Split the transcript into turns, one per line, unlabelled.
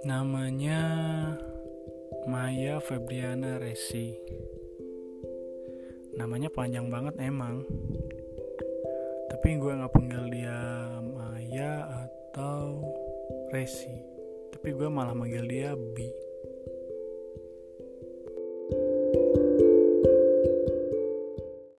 Namanya Maya Febriana Resi. Namanya panjang banget emang. Tapi gue gak panggil dia Maya atau Resi. Tapi gue malah manggil dia Bi.